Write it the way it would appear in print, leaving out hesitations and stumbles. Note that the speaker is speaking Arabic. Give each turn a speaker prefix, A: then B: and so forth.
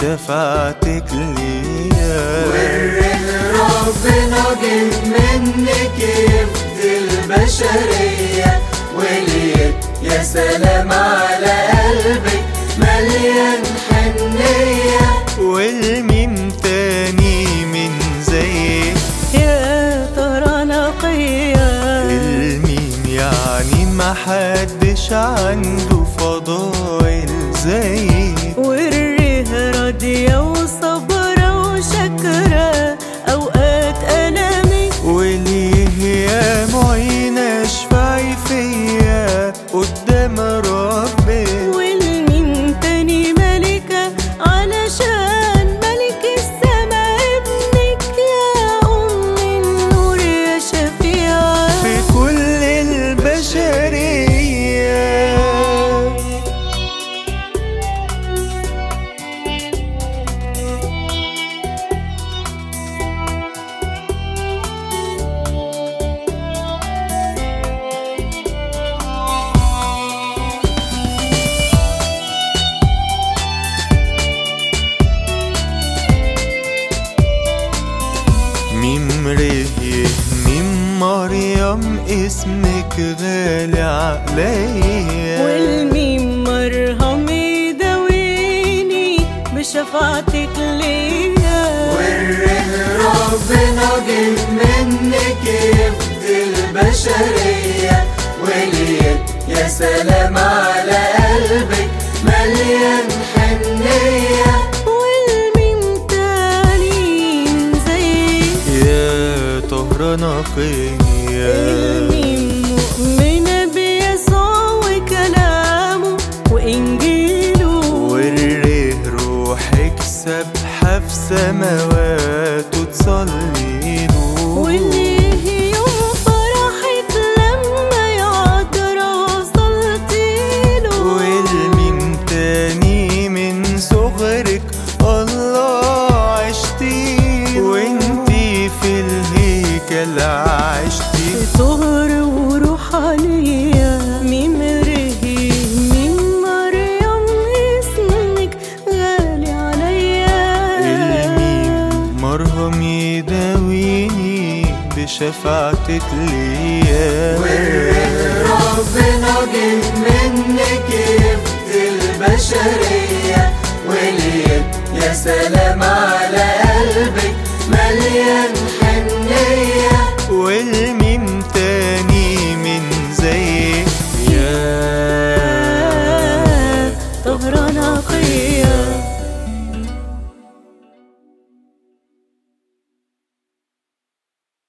A: بشفاعتك ليا.
B: والريح ربنا جه منك يفدي البشرية، وليت يا سلام على قلبك مليان حنية.
A: والمين تاني من زيك
C: يا ترى نقية؟
A: المين يعني محدش عنده فضائل زيك.
C: والريح راضية وصبرة وشاكرة أوقات ألمي،
A: وليه يا معين اشفعي فيا قدام ربي.
C: والمين تاني ملكة علشان ملك السما ابنك، يا أم النور يا شفيعة
A: في كل البشرية. ميم ريه ميم مريم اسمك غالي عليا.
C: والميم مرهم يداويني بشفاعتك ليا.
B: والريح ربنا جه منك يفدي البشرية، وليت يا سلام على قلبك مليان حنية.
C: والميم تاني من زيك
A: يا طهرة نقية.
C: الميم مؤمنة بيسوع وكلامه وإنجيله.
A: والريح روحك سبحة في سماواته تصلي له.
C: واللي يوم فرحك لما يعذر وصلتيله.
A: والمين تاني من صغرك الله عشتي، وانتي في الهيكل عشتي.
C: طهر وروحانية ميم ريه ميم مريم اسمك غالي عليا.
A: الميم مرهم يداويني بشفاعتك ليا.
B: والريح ربنا جه منك يفدي البشرية، وليت